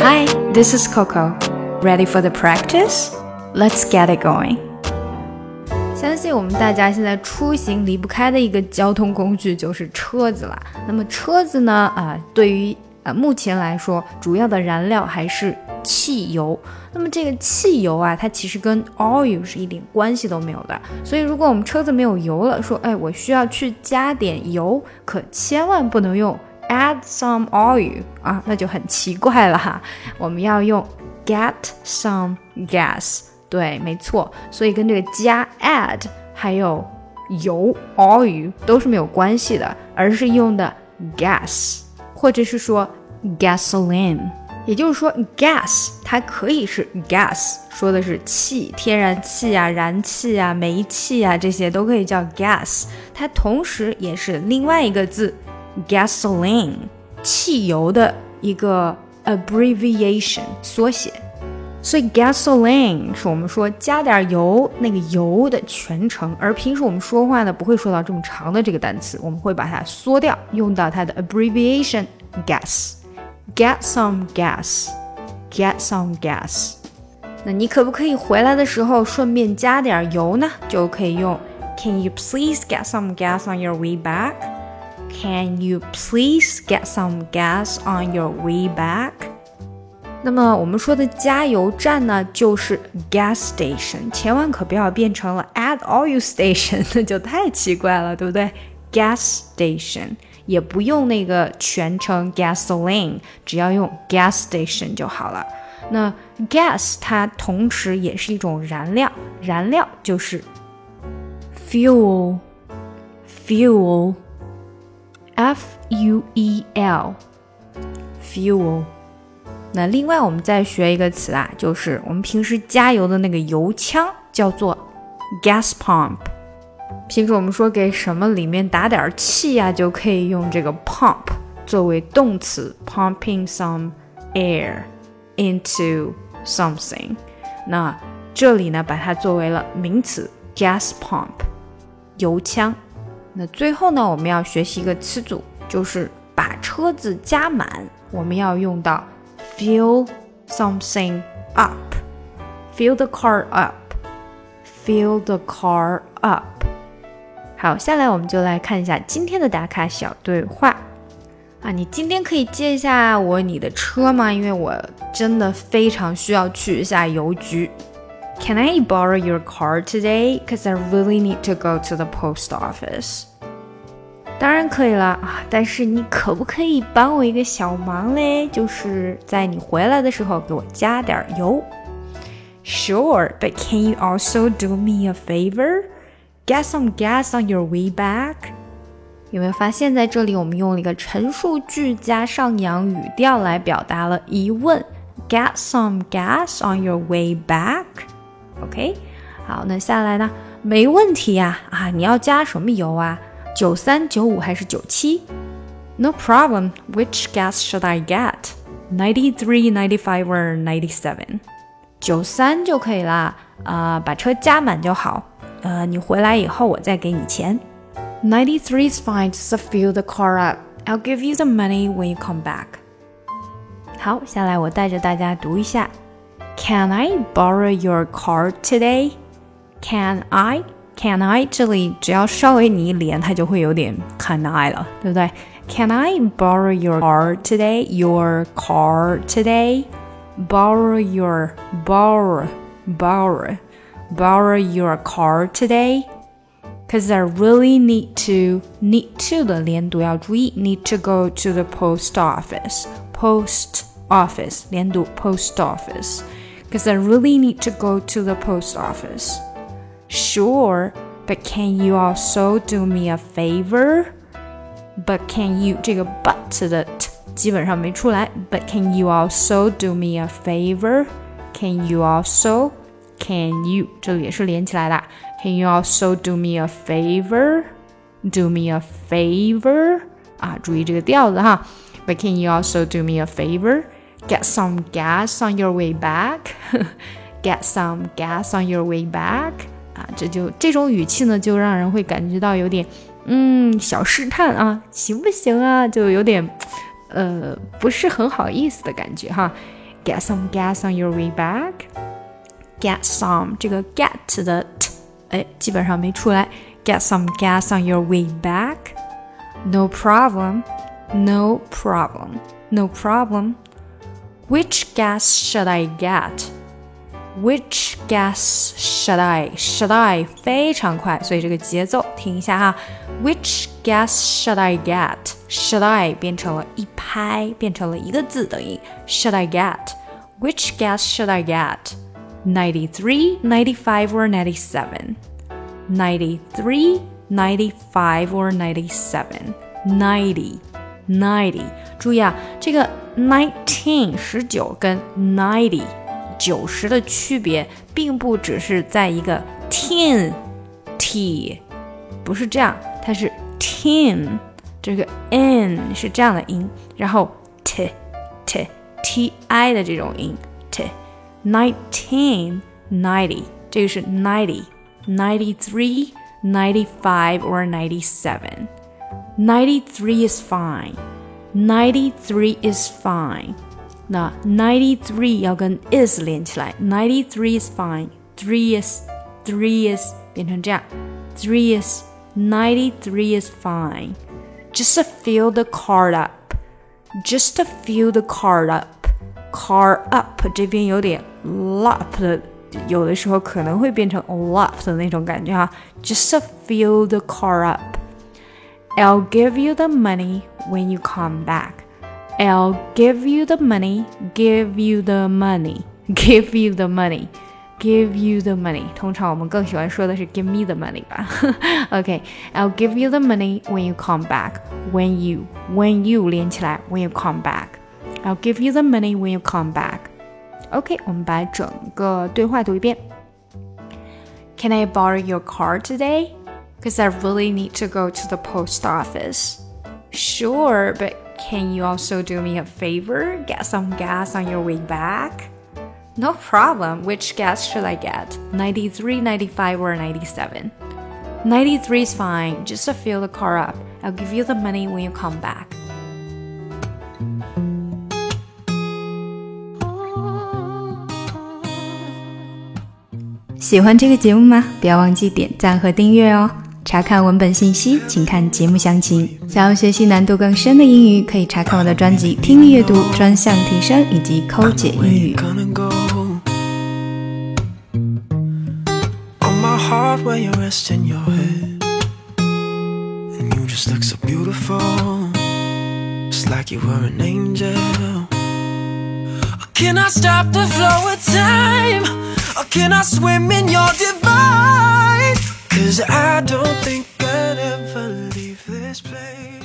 Hi, this is Coco. Ready for the practice? Let's get it going. 相信我们大家现在出行离不开的一个交通工具就是车子了。那么车子呢，对于目前来说，主要的燃料还是汽油。那么这个汽油啊，它其实跟 oil 是一点关系都没有的。所以如果我们车子没有油了，说我需要去加点油，可千万不能用 add some oil 啊，那就很奇怪了哈。我们要用 get some gas。对，没错，所以跟这个加 add 还有油 oil 都是没有关系的，而是用的 gas 或者是说 gasoline。也就是说 gas 它可以是 gas， 说的是气，天然气啊、燃气啊、煤气啊，这些都可以叫 gas。 它同时也是另外一个字 gasoline， 汽油的一个 abbreviation 缩写。所以 gasoline 是我们说加点油那个油的全称，而平时我们说话呢不会说到这么长的这个单词，我们会把它缩掉，用到它的 abbreviation gas。 Get some gas， Get some gas。 那你可不可以回来的时候顺便加点油呢？就可以用 Can you please get some gas on your way back？ Can you please get some gas on your way back？那么我们说的加油站呢，就是 gas station， 千万可不要变成了 add oil station， 那就太奇怪了，对不对？ gas station 也不用那个全称 gasoline， 只要用 gas station 就好了。那 gas 它同时也是一种燃料，燃料就是 fuel F-U-E-L fuel。那另外我们再学一个词啊，就是我们平时加油的那个油枪叫做 gas pump。 平时我们说给什么里面打点气啊，就可以用这个 pump 作为动词， pumping some air into something。 那这里呢把它作为了名词 gas pump 油枪。那最后呢我们要学习一个词组，就是把车子加满，我们要用到Fill something up. Fill the car up. Fill the car up. 好，下来我们就来看一下今天的打卡小对话啊，你今天可以借一下你的车吗？因为我真的非常需要去一下邮局。Can I borrow your car today? Because I really need to go to the post office.当然可以了啊，但是你可不可以帮我一个小忙嘞？就是在你回来的时候给我加点油。Sure, but can you also do me a favor? Get some gas on your way back? 有没有发现在这里我们用了一个陈述句加上扬语调来表达了疑问。Get some gas on your way back? OK? 好，那下来呢？没问题呀，你要加什么油啊？93、95还是97 ？No problem. Which gas should I get? 93, 95 or 97? 93就可以啦，把车加满就好。你回来以后我再给你钱。93 is fine. Just fill the car up. I'll give you the money when you come back. 好，下来我带着大家读一下。Can I borrow your car today? Can I?Can I 这里只要稍微你一连它就会有点 can I 了，对不对？ Can I borrow your car today? Your car today? Borrow your car today? Because I really need to 的连读要注意， need to go to the post office. Post office 连读 post office. Because I really need to go to the post office.Sure, but can you also do me a favor? But can you 这个 but 的 t 基本上没出来。But can you also do me a favor? Can you also? Can you 这里也是连起来的。Can you also do me a favor? Do me a favor? 注意这个调子哈。But can you also do me a favor? Get some gas on your way back? Get some gas on your way back?这种语气呢，就让人会感觉到有点小试探啊，行不行啊？就有点不是很好意思的感觉哈。 Get some gas on your way back. Get some 这个 get 的 t 基本上没出来。Get some gas on your way back. No problem. No problem. No problem. Which gas should I get?Which gas should I 非常快，所以这个节奏听一下哈。Which gas should I get? Should I 变成了一拍，变成了一个字的音。Should I get? Which gas should I get? 93, 95 or 97? 93, 95 or 97? 90. 注意啊，这个 19 跟 90的区别并不只是在一个 tin t 不是这样，它是 tin 这个 n 是这样的音，然后 t i 的这种音 t 19 90 这个是 90 93 95 or 97 93 is fine 93 is fine那93要跟 is 连起来 93 is fine 3 is 变成这样 3 is 93 is fine Just to fill the car up Just to fill the car up Car up 这边有点 lop 的有的时候可能会变成 lop 的那种感觉哈 Just to fill the car up I'll give you the money when you come back.I'll give you the money, give you the money, give you the money, give you the money. 通常我们更喜欢说的是 give me the money 吧。OK, I'll give you the money when you come back. When you 连起来 when you come back. I'll give you the money when you come back. OK, 我们把整个对话读一遍。Can I borrow your car today? Because I really need to go to the post office. Sure, but can you also do me a favor? Get some gas on your way back? No problem. Which gas should I get? 93, 95, or 97? 93 is fine. Just to fill the car up. I'll give you the money when you come back. 喜欢这个节目吗？不要忘记点赞和订阅哦。查看文本信息，请看节目详情。想要学习难度更深的英语，可以查看我的专辑《听力阅读专项提升》以及《抠解英语》。 Can I stop the flow of time? Or can I swim in your divine? 'Cause I don't think I'd ever leave this place